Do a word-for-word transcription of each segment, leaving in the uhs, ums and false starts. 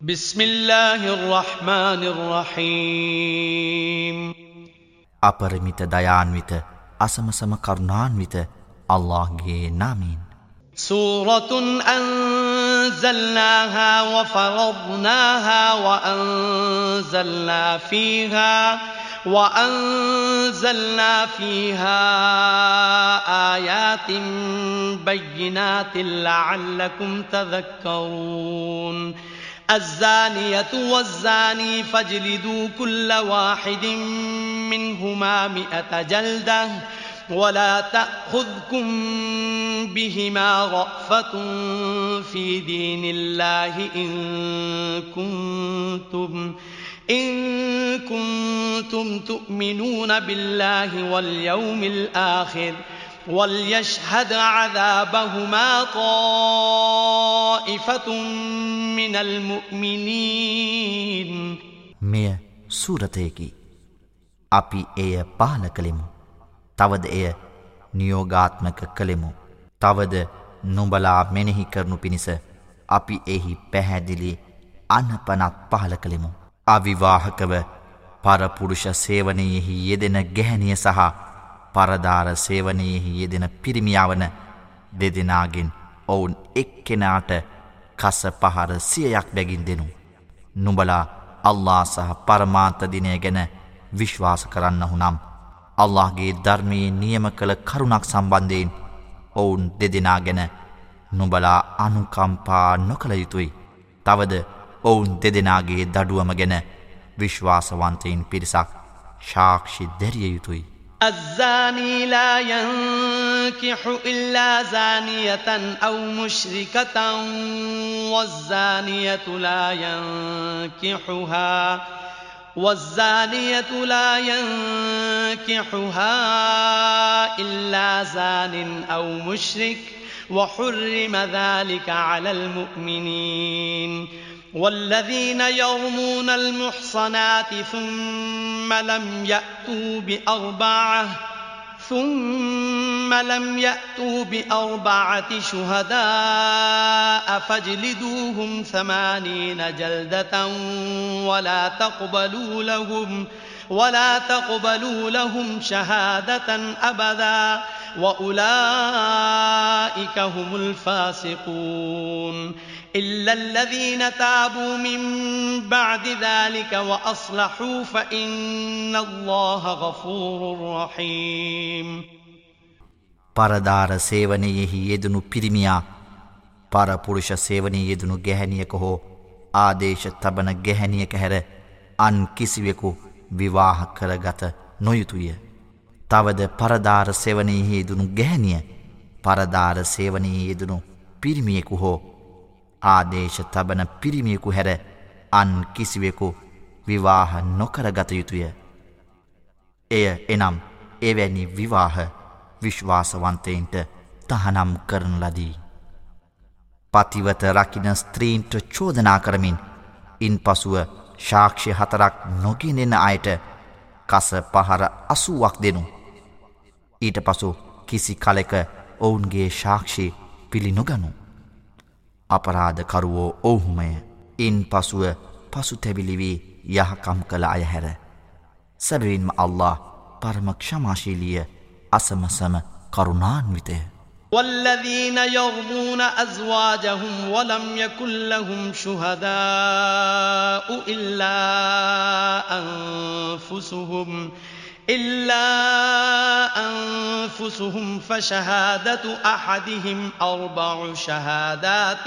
بسم الله الرحمن الرحيم අපරිමිත දයාන්විත අසමසම කරුණාන්විත අල්ලාහ්ගේ නාමයෙන් سورة أنزلناها وفرضناها وأنزلنا فيها وأنزلنا فيها آيات بينات لعلكم تذكرون الزانية والزاني فاجلدوا كل واحد منهما مئة جلدة ولا تأخذكم بهما رأفة في دين الله إن كنتم إن كنتم تؤمنون بالله واليوم الآخر وليشهد عذابهما طائفة من المؤمنين මෙය සූරතයකි. අපි එය පහල කළෙමු. තවද එය නියෝගාත්මක කළෙමු. තවද නුඹලා මෙනෙහි කරනු පිණිස අපි එහි පැහැදිලි අනපනත් පහල කළෙමු. අවිවාහකව පරපුරුෂ සේවනයෙහි යෙදෙන ගැහැණිය සහ පරදාර සේවනයෙහි යෙදෙන පිරිමියවන දෙදෙනාගෙන් ඔවුන් එක්කෙනාට කස පහර සියයක් බැගින් දෙනු. නුඹලා අල්ලාහ් සහ පරමාන්ත දිනය ගැන විශ්වාස කරන්නහු නම් අල්ලාහ්ගේ ධර්මයේ නියම කළ කරුණක් සම්බන්ධයෙන් ඔවුන් දෙදෙනා ගැන නුඹලා අනුකම්පා නොකළ යුතුයි. තවද ඔවුන් දෙදෙනාගේ දඩුවම ගැන විශ්වාසවන්තයින් පිරිසක් සාක්ෂි දැරිය යුතුයි. الزاني لا ينكح إلا زانية أو مشركة والزانية لا ينكحها والزانية لا ينكحها إلا زان أو مشرك وحرم ذلك على المؤمنين والذين يرمون المحصنات ثم لم يأتوا بأربعة ثم لم يأتوا بأربعة شهداء فاجلدوهم ثمانين جلدة ولا تقبلوا لهم ولا تقبلوا لهم شهادة أبدا وأولئك هم الفاسقون إلا الذين تابوا من بعد ذلك وأصلحوا فإن الله غفور رحيم පරදාර සේවනයෙහි යෙදුණු පිරිමියා පරපුරුෂ සේවනයේ යෙදුණු ගැහැණියක හෝ ආදේශ තබන ගැහැණියක හැර අන් කිසිවෙකු විවාහ කරගත නොයුතුය. තවද පරදාර සේවනයෙහි යෙදුණු ගැහැණිය පරදාර සේවනයේ යෙදුණු පිරිමියෙකු හෝ ආදේශ තබන පිරිමියෙකු හැර අන් කිසිවෙකු විවාහ නොකරගත යුතුය. එය එනම් එවැනි විවාහ විශ්වාසවන්තයින්ට තහනම් කරන ලදී. පතිවත රකින ස්ත්‍රීන්ට චෝදනා කරමින් ඉන් පසුව සාක්ෂි හතරක් නොගෙනෙන අයට කස පහර අසූවක් දෙනු. ඊට පසු කිසි කලෙක ඔවුන්ගේ සාක්ෂි පිළි නොගනු. අපරාධකරුවෝ ඔවුහුමය. ඉන් පසුව පසුතැවිලි වී යහකම් කළ අය හැර. සැබවින්ම අල්ලාහ් පරම ක්ෂමාශීලිය අසමසම කරුණාන්විතය. والذين يرمون أزواجهم ولم يكن لهم شهداء إلا أنفسهم إلا أنفسهم فشهادة أحدهم أربع شهادات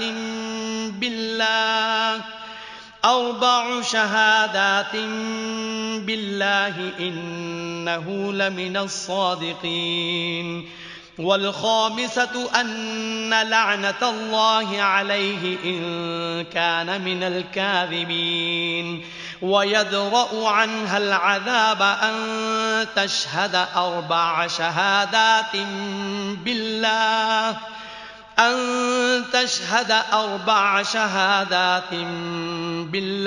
بالله أربع شهادات بالله إنه لمن الصادقين والخامسة أن لعنة الله عليه إن كان من الكاذبين ويدرأ عنها العذاب أن تشهد أربع شهادات بالله أن تشهد أربع شهادات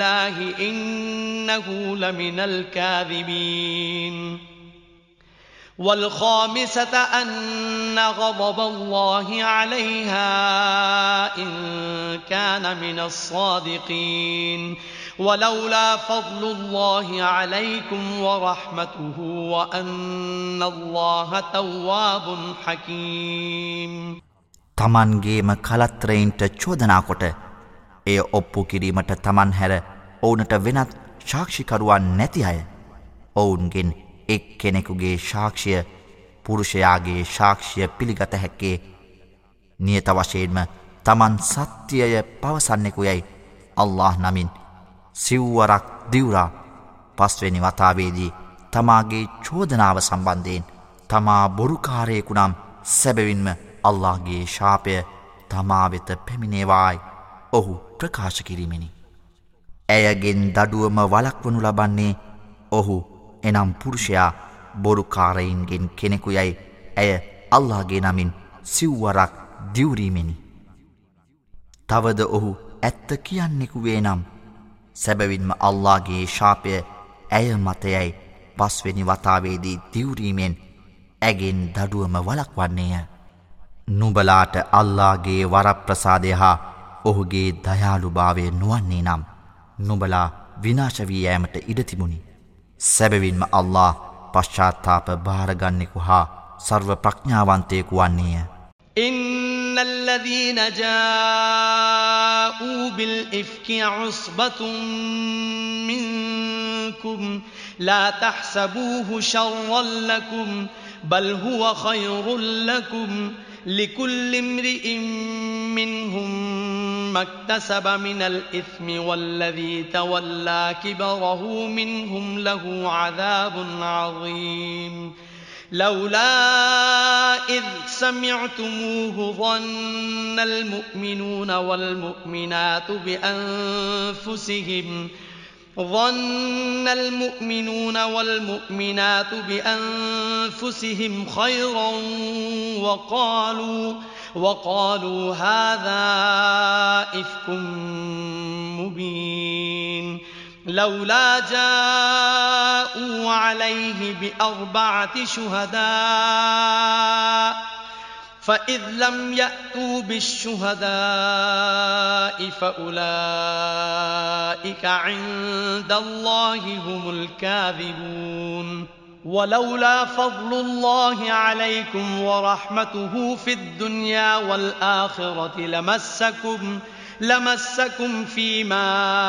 بالله إنه لمن الكاذبين والخامسة أن غضب الله عليها إن كان من الصادقين ولولا فضل الله عليكم ورحمته وأن الله تواب حكيم තමන්ගේම කලත්‍රයින්ට චෝදනා කොට එය ඔප්පු කිරීමට තමන් හැර ඔවුනට වෙනත් සාක්ෂිකරුවන් නැති අය ඔවුන්ගෙන් එක් කෙනෙකුගේ සාක්ෂිය පුරුෂයාගේ සාක්ෂිය පිළිගත හැක්කේ නියත වශයෙන්ම තමන් සත්‍යය පවසන්නෙකුයයි අල්ලාහ් නමින් සිව්වරක් දිවුරා පස්වෙනි වතාවේදී තමාගේ චෝදනාව සම්බන්ධයෙන් තමා බොරුකාරයෙකු නම් සැබවින්ම අල්ලාහ්ගේ ශාපය තමා වෙත පැමිණේවායි ඔහු ප්‍රකාශ කිරීමෙනි. ඇයගෙන් දඩුවම වළක්වනු ලබන්නේ ඔහු එනම් පුරුෂයා බොරුකාරයින්ගෙන් කෙනෙකුයයි ඇය අල්ලාහ්ගේ නමින් සිව්වරක් දිවුරීමෙනි. තවද ඔහු ඇත්ත කියන්නෙකු වේ නම් සැබවින්ම අල්ලාහ්ගේ ශාපය ඇය මතයයි පස්වෙනි වතාවේදී දිවුරීමෙන් ඇගෙන් දඩුවම වළක්වන්නේය. නුඹලාට අල්ලාහ්ගේ වරප්‍රසාදය හා ඔහුගේ දයාලුභාවය නොවන්නේ නම් නුඹලා විනාශ වී යෑමට ඉඩ තිබුණි. සැබවින්ම අල්ලාහ් පශ්චාත්තාප භාරගන්නෙකු හා සර්ව ප්‍රඥාවන්තයෙකු වන්නේය. إن الذين جاءوا بالإفك عصبة منكم لا تحسبوه شرا لكم بل هو خير لكم لكل امرئ منهم ما اكتسب من الإثم والذي تولى كبره منهم له عذاب عظيم لولا إذ سمعتموه ظن المؤمنون والمؤمنات بأنفسهم ظن المؤمنون والمؤمنات بأنفسهم خيرا وقالوا وقالوا هذا إفك مبين لولا جاءوا عليه بأربعة شهداء فإذ لم يأتوا بالشهداء فأولئك عند الله هم الكاذبون ولولا فضل الله عليكم ورحمته في الدنيا والآخرة لمسكم لمسكم فيما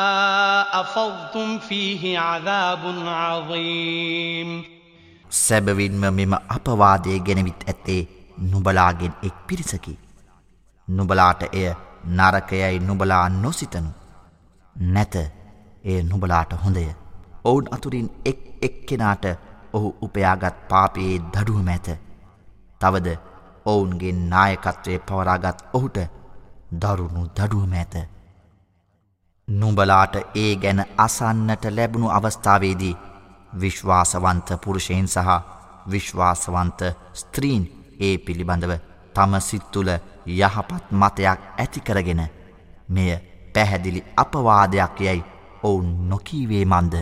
أفضتم فيه عذاب عظيم සැබවින්ම මෙම අපවාදය ගෙනවිත් ඇත්තේ නුඹලාගෙන් එක් පිරිසකි. නුඹලාට එය නරකයයි නුඹලා නොසිතනු. නැත එය නුඹලාට හොඳය. ඔවුන් අතුරින් එක් එක්කෙනාට ඔහු උපයාගත් පාපයේ දඩුවම ඇත. තවද ඔවුන්ගේ නායකත්වය පවරාගත් ඔහුට දරුණු දඩුවම ඇත. නුඹලාට ඒ ගැන අසන්නට ලැබුණු අවස්ථාවේදී විශ්වාසවන්ත පුරුෂයන් සහ විශ්වාසවන්ත ස්ත්‍රීන් ඒ පිළිබඳව තම සිත් තුළ යහපත් මතයක් ඇති කරගෙන මෙය පැහැදිලි අපවාදයක් යයි ඔවුන් නොකීවේ මන්ද.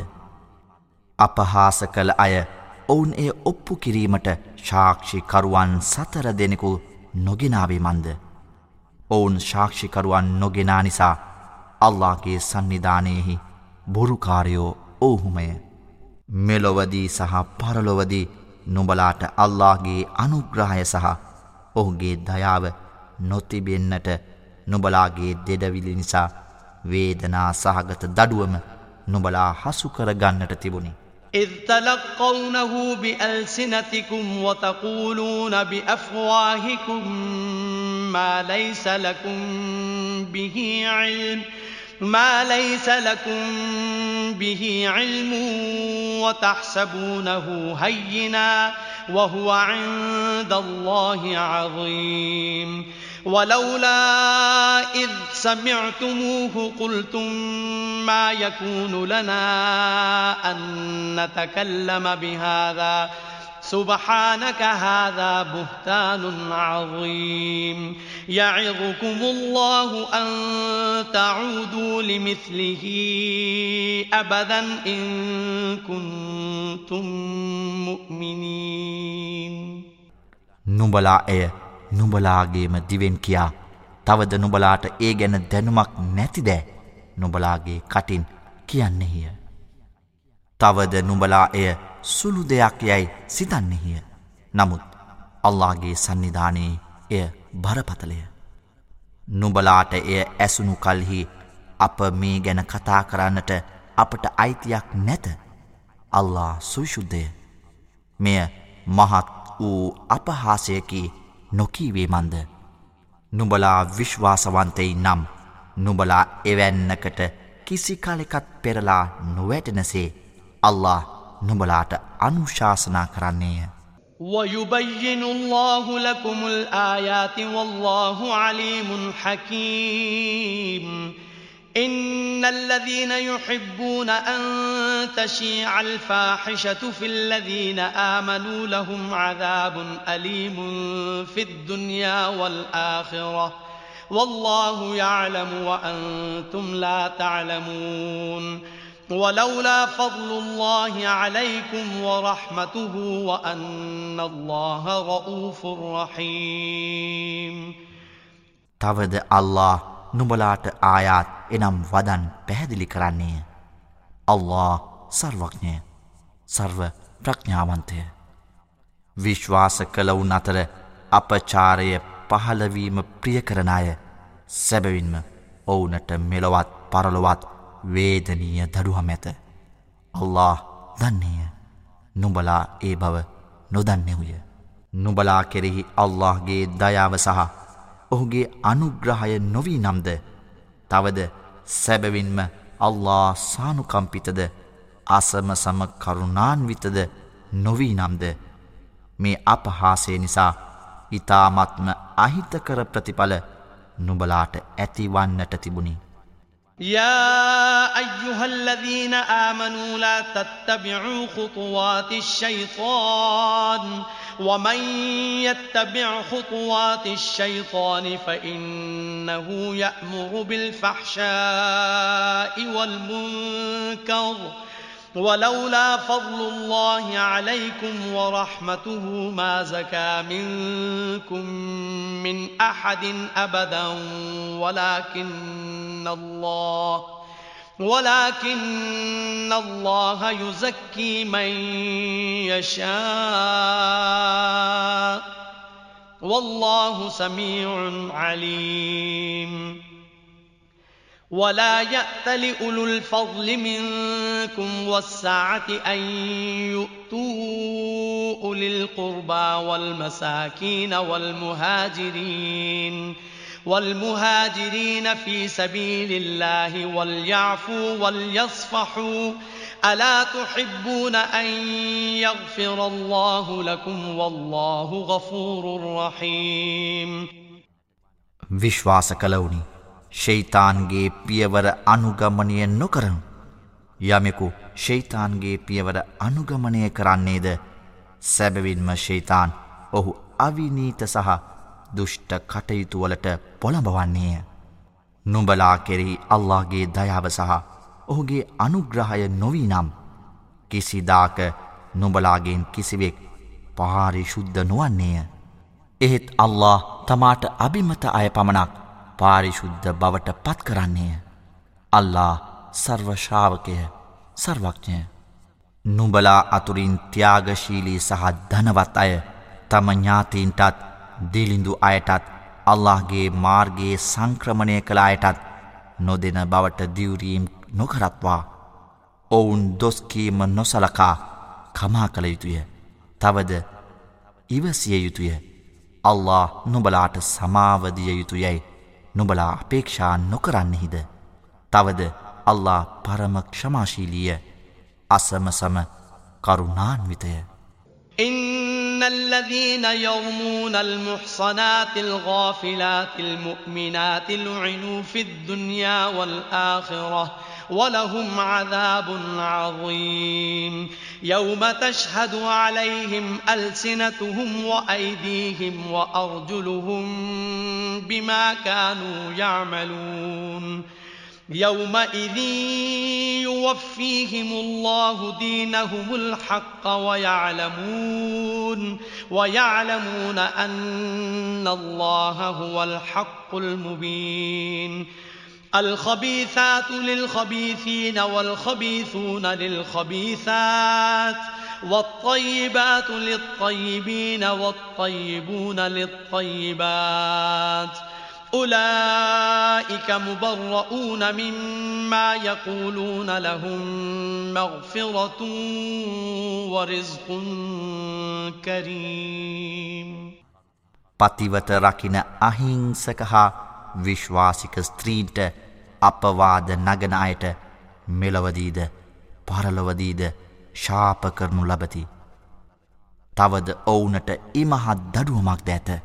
අපහාස කළ අය ඔවුන් එය ඔප්පු කිරීමට සාක්ෂිකරුවන් සතර දෙනෙකු නොගෙනාවේ මන්ද. ඔවුන් සාක්ෂිකරුවන් නොගෙනා නිසා අල්ලාහ්ගේ සන්නිධානයෙහි බොරුකාරයෝ ඔවුහුමය. මෙලොවදී සහ පරලොවදී නුඹලාට අල්ලාහ්ගේ අනුග්‍රහය සහ ඔහුගේ දයාව නොතිබෙන්නට නුඹලාගේ දෙඩවිලි නිසා වේදනා සහගත දඩුවම නුඹලා හසු කර ගන්නට තිබුණි. إذ تلقونه بألسنتكم وتقولون بأفواهكم ما ليس لكم به علم ما ليس لكم به علم وتحسبونه هينا وهو عند الله عظيم ولولا إذ سمعتموه قلتم ما يكون لنا أن نتكلم بهذا سبحانك هذا بهتان عظيم يعظكم الله أن تعودوا لمثله أبدا إن كنتم مؤمنين නුඹලා එය නුඹලාගේම දිවෙන් කියා තවද නුඹලාට ඒ ගැන දැනුමක් නැතිද නුඹලාගේ කටින් කියන්නේය. තවද නුඹලා එය සුළු දෙයක් යයි සිතන්නේය. නමුත් අල්ලාහගේ සන්නිධානයේ එය බරපතලය. නුඹලාට එය ඇසුණු කල්හි අප මේ ගැන කතා කරන්නට අපට අයිතියක් නැත. අල්ලාහ් සවිසුද්ධය. මෙය මහත් වූ අපහාසයකි නොකීවේමන්ද. නුඹලා විශ්වාසවන්තයි නම් නුඹලා එවැන්නකට කිසි කලෙකත් පෙරලා නොවැටෙනසේ අල්ලාහ් නුඹලාට අනුශාසනා කරන්නේය. ويبين الله لكم الآيات والله عليم حكيم إن الذين يحبون أن تشيع الفاحشة في الذين آمنوا لهم عذاب أليم في الدنيا والآخرة والله يعلم وأنتم لا تعلمون ولولا فضل الله عليكم ورحمته وأن الله رؤوف رحيم තවද අල්ලාහ් නුඹලාට ආයාත් එනම් වදන් පැහැදිලි කරන්නේය. අල්ලාහ් සර්වඥය, සර්ව ප්‍රඥාවන්තය. විශ්වාස කළවුන් අතර අපචාරය පහළවීම ප්‍රිය කරන අය සැබවින්ම ඔවුනට මෙලොවත් පරලොවත් වේදනීය දඩුවම් ඇත. අල්ලාහ් දන්නේය. නුඹලා ඒ බව නොදන්නේය. නුඹලා කෙරෙහි අල්ලාහ්ගේ දයාව සහ ඔහුගේ අනුග්‍රහය නොවී නම්ද තවද සැබවින්ම අල්ලාහ් සානුකම්පිතද අසමසම කරුණාන්විතද නොවී නම්ද මේ අපහාසය නිසා ඊ타මත්ම අහිතකර ප්‍රතිඵල නුඹලාට ඇතිවන්නට තිබුණි. يا أيها الذين آمنوا لا تتبعوا خطوات الشيطان ومن يتبع خطوات الشيطان فإنه يأمر بالفحشاء والمنكر ولولا فضل الله عليكم ورحمته ما زكى منكم من أحد أبدا ولكن الله ولكن الله يزكي من يشاء والله سميع عليم ولا يأت لأولو الفضل منكم والسعة أن يؤتوا أولي القربى والمساكين والمهاجرين والمهاجرين في سبيل الله وليعفوا وليصفحوا ألا تحبون أن يغفر الله لكم والله غفور رحيم විශ්වාස කළවුනි ෂයිතාන්ගේ පියවර අනුගමනය නොකරනු. යමෙකු ෂයිතාන්ගේ පියවර අනුගමනය කරන්නේද සැබවින්ම ෂයිතාන් ඔහු අවිනීත සහ දුෂ්ට කටයුතුවලට පොළඹවන්නේය. නුඹලා කෙරෙහි අල්ලාහ්ගේ දයාව සහ ඔහුගේ අනුග්‍රහය නොවී නම් කිසිදාක නුඹලාගෙන් කිසිවෙක් පාරිශුද්ධ නොවන්නේය. එහෙත් අල්ලාහ් තමාට අබිමත අය පමණක් පාරිශුද්ධ බවට පත් කරන්නේය. අල්ලාහ් සර්ව ශ්‍රාවකය, සර්වඥය. නුඹලා අතුරින් ත්‍යාගශීලී සහ ධනවත් අය තම ඥාතීන්ටත් දිලිඳු අයටත් අල්ලාහ්ගේ මාර්ගයේ සංක්‍රමණය කළ අයටත් නොදෙන බවට දිවුරීම් නොකරත්වා ඔවුන් දොස්කීම නොසලකා කමා කළ යුතුය. තවද ඉවසිය යුතුය. අල්ලාහ් නුඹලාට සමාවදිය යුතුයයි නුඹලා අපේක්ෂා නොකරන්නෙහිද. තවද අල්ලාහ් පරම ක්ෂමාශීලීය, අසමසම කරුණාන්විතය. إن الذين يرمون المحصنات الغافلات المؤمنات لعنوا في الدنيا والآخرة ولهم عذاب عظيم يوم تشهد عليهم ألسنتهم وأيديهم وأرجلهم بما كانوا يعملون يومئذ يوفيهم الله دينهم الحق ويعلمون ويعلمون أن الله هو الحق المبين الخبيثات للخبيثين والخبيثون للخبيثات والطيبات للطيبين والطيبون للطيبات أولئك مبرؤون مما يقولون لهم مغفرة ورزق كريم පතිවත රකින අහිංසක හා විශ්වාසික ස්ත්‍රීන්ට අපවාද නගන අයට මෙලොවදීද පරලොවදීද ශාප කරනු ලබති. තවද ඔවුනට ඉමහත් දඩුවමක් ද ඇත.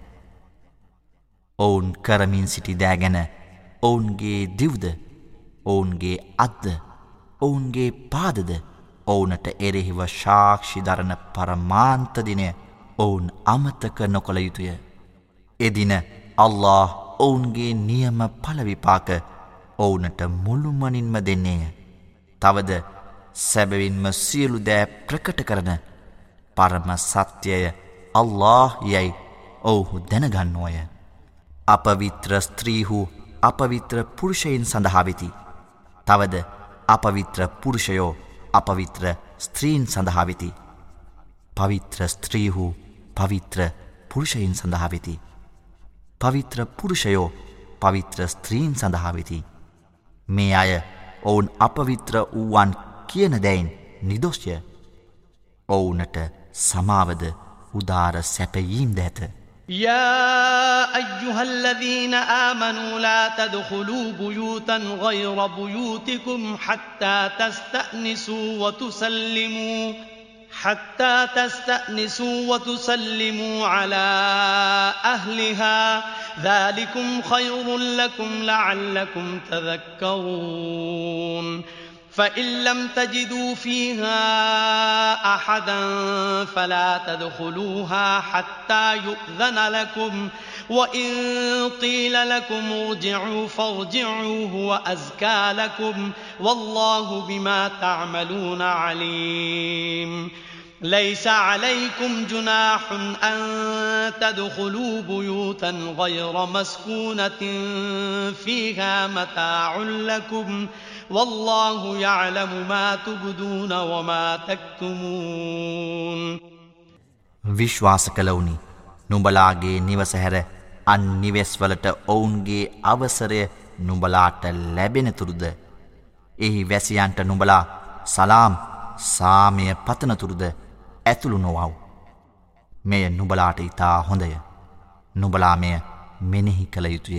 ඔවුන් කරමින් සිටි දෑගැන ඔවුන්ගේ දිව්ද ඔවුන්ගේ අත්ද ඔවුන්ගේ පාදද ඔවුනට එරෙහිව ශාක්ෂි දරන පරමාන්තදිනය ඔවුන් අමතක නොකළ යුතුය. එදින අල්له ඔවුන්ගේ නියම පලවිපාක ඔවුනට මුළුමනින්ම දෙන්නේය. තවද සැබවින්ම සියලු දෑ ප්‍රකට කරන පරම සත්‍යය අල්له යැයි ඔවුහු දැනගන්නෝය. අපවිත්‍ර ස්ත්‍රීහු අපවිත්‍ර පුරුෂයින් සඳහා වෙති. තවද අපවිත්‍ර පුරුෂයෝ අපවිත්‍ර ස්ත්‍රීන් සඳහා වෙති. පවිත්‍ර ස්ත්‍රීහු පවිත්‍ර පුරුෂයින් සඳහා වෙති. පවිත්‍ර පුරුෂයෝ පවිත්‍ර ස්ත්‍රීන් සඳහා වෙති. මේ අය ඔවුන් අපවිත්‍ර වූවන් කියන දැයින් නිදොස්ය. ඔවුනට සමාවද උදාර සැපයීම් දැත. يا أيها الذين آمنوا لا تدخلوا بيوتا غير بيوتكم حتى تستأنسوا وتسلموا حتى تستأنسوا وتسلموا على أهلها ذلكم خير لكم لعلكم تذكرون فإن لم تجدوا فيها أحدا فلا تدخلوها حتى يؤذن لكم وإن قيل لكم ارجعوا فارجعوا هو أزكى لكم والله بما تعملون عليم ليس عليكم جناح أن تدخلوا بيوتا غير مسكونة فيها متاع لكم والله يعلم ما تبدون وما تكتمون විශ්වාස කළවුනි නුඹලාගේ නිවස හැර අන් නිවෙස්වලට ඔවුන්ගේ අවසරය නුඹලාට ලැබෙනතුරුද එහි වැසියන්ට නුඹලා සලාම් සාමය පතනතුරුද ඇතුළු නොවව්. මෙය නුඹලාට ඉතා හොඳය. නුඹලා මෙය මෙනෙහි කළ යුතුය.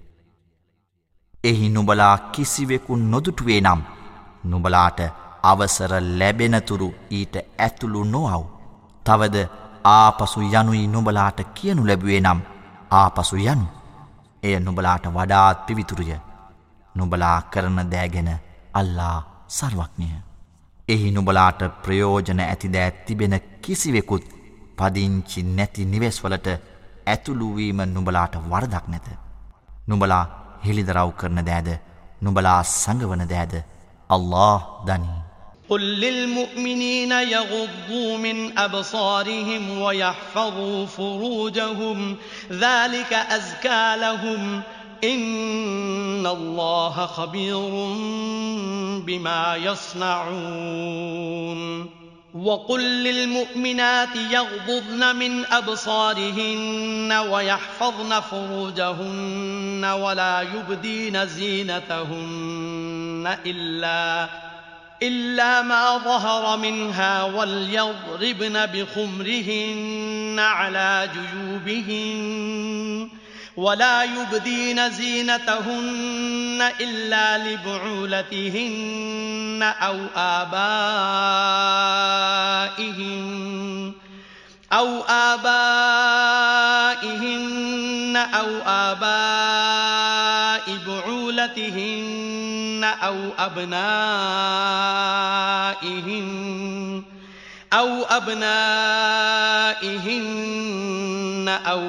එහි නුඹලා කිසිවෙකු නොදුටුවේ නම් නුඹලාට අවසර ලැබෙනතුරු ඊට ඇතුළු නොවව්. තවද ආපසු යනුයි නුඹලාට කියනු ලැබුවේ නම් ආපසු යනු. එය නුඹලාට වඩාත් පිවිතුරුය. නුඹලා කරන දෑගෙන අල්ලා සර්වඥය. එහි නුඹලාට ප්‍රයෝජන ඇති දෑ තිබෙන කිසිවෙකුත් පදිංචි නැති නිවෙස්වලට ඇතුළුවීම නුඹලාට වරදක් නැත. නුඹලා හෙළිදරව් කරන දෑද නුඹලා සංගවන දෑද අල්له දනී. قل للمؤمنين يغضوا من أبصارهم ويحفظوا فروجهم ذلك أزكى لهم إن الله خبير بما يصنعون وقل للمؤمنات يغضضن من أبصارهن ويحفظن فروجهن ولا يبدين زينتهن إلا إلا ما ظهر منها وليضربن بخمرهن على جيوبهن ولا يبدين زينتهن إلا لبعولتهن أو آبائهن أو آبائهن أو آباء بعولتهن أو أبنائهن أو أبنائهن أو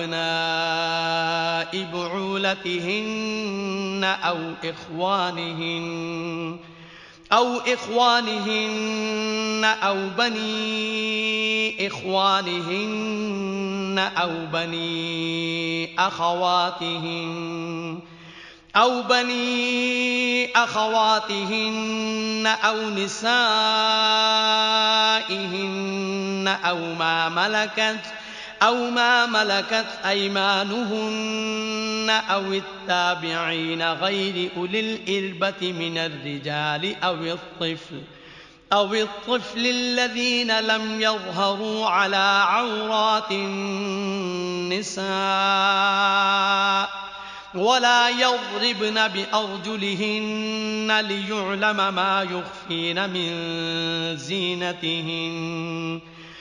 أبناء بعولتهن أو إخوانهن أو إخوانهن أو بني إخوانهن أو بني أخواتهن أو بني أخواتهن أو نسائهن أو ما ملكت أو ما ملكت أيمانهن أو التابعين غير أولي الإربة من الرجال أو الطفل أو الطفل الذين لم يظهروا على عورات النساء ولا يضربن بأرجلهن ليعلم ما يخفين من زينتهن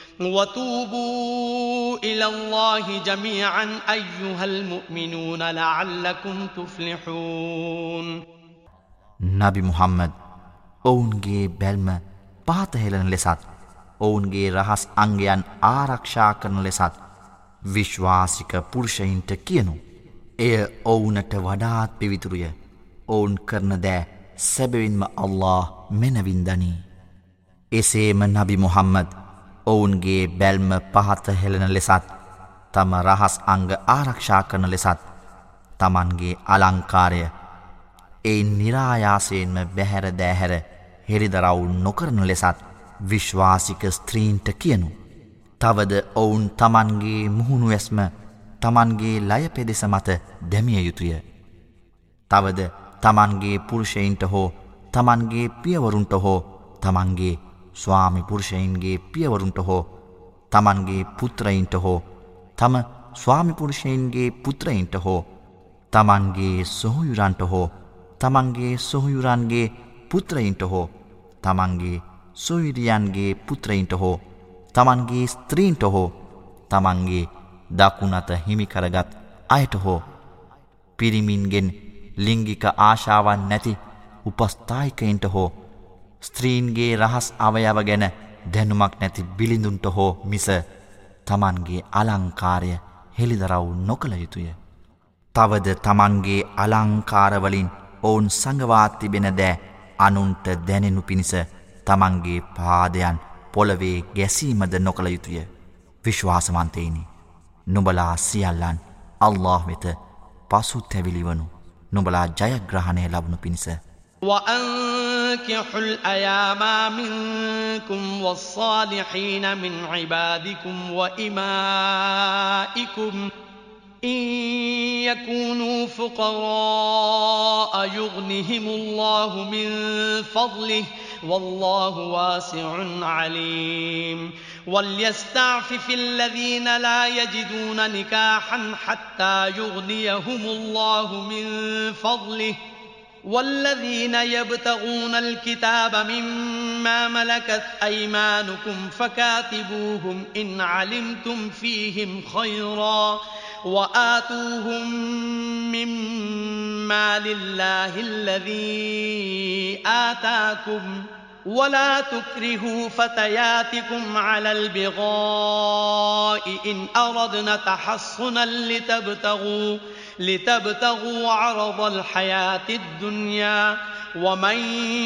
وتوبوا إلى الله جميعا أيها المؤمنون لعلكم تفلحون. نبي محمد ඔවුන්ගේ බැල්ම පහත හෙළන ලෙසත් ඔවුන්ගේ රහස් අංගයන් ආරක්ෂා කරන ලෙසත් විශ්වාසික පුරුෂයින්ට කියනු. එය ඔවුනට වඩාත් පිවිතුරුය. ඔවුන් කරන දෑ සැබවින්ම අල්ලාහ් මෙනවින් දනී. එසේම නබි මුහම්මද් ඔවුන්ගේ බැල්ම පහත හෙළන ලෙසත් තම රහස් අංග ආරක්ෂා කරන ලෙසත් තමන්ගේ අලංකාරය එයින් නිරායාසයෙන්ම බැහැර දෑහැර හෙළිදරව් නොකරන ලෙසත් විශ්වාසික ස්ත්‍රීන්ට කියනු. තවද ඔවුන් තමන්ගේ මුහුණු ඇස්ම තමන්ගේ ලය පෙදෙස මත දැමිය යුතුය. තවද තමන්ගේ පුරුෂයින්ට හෝ තමන්ගේ පියවරුන්ට හෝ තමන්ගේ ස්වාමි පුරුෂයින්ගේ පියවරුන්ට හෝ තමන්ගේ පුත්‍රයින්ට හෝ තම ස්වාමි පුරුෂයින්ගේ පුත්‍රයින්ට හෝ තමන්ගේ සොහොයුරන්ට හෝ තමන්ගේ සොහොයුරන්ගේ පුත්‍රයින්ට හෝ තමන්ගේ සොයුරියන්ගේ පුත්‍රයින්ට හෝ තමන්ගේ ස්ත්‍රීන්ට හෝ තමන්ගේ දකුණත හිමිකරගත් අයට හෝ පිරිමින්ගෙන් ලිංගික ආශාවන් නැති උපස්ථායිකයින්ට හෝ ස්ත්‍රීන්ගේ රහස් අවයව ගැන දැනුමක් නැති බිලිඳුන්ට හෝ මිස තමන්ගේ අලංකාරය හෙළිදරව් නොකළ යුතුය. තවද තමන්ගේ අලංකාරවලින් ඔවුන් සඟවා තිබෙන දෑ අනුන්ට දැනෙනු පිණිස තමන්ගේ පාදයන් පොළවේ ගැසීමද නොකළ යුතුය. විශ්වාසවන්තයිනි, නුඹලා සියල්ලන් අල්ලාහ් වෙත පසුතැවිලි වනු නුඹලා ජයග්‍රහණය ලබනු පිණිස. وأنكحوا الأيام منكم والصالحين من عبادكم وإمائكم إن يكونوا فقراء يغنهم الله من فضله والله واسع عليم وليستعفف الذين لا يجدون نكاحا حتى يغنيهم الله من فضله والذين يبتغون الكتاب مما ملكت أيمانكم فكاتبوهم إن علمتم فيهم خيرا وآتوهم مما لله الذي آتاكم ولا تكرهوا فتياتكم على البغاء إن أردنا تحصنا لتبتغوا لتبتغوا عرض الحياة الدنيا ومن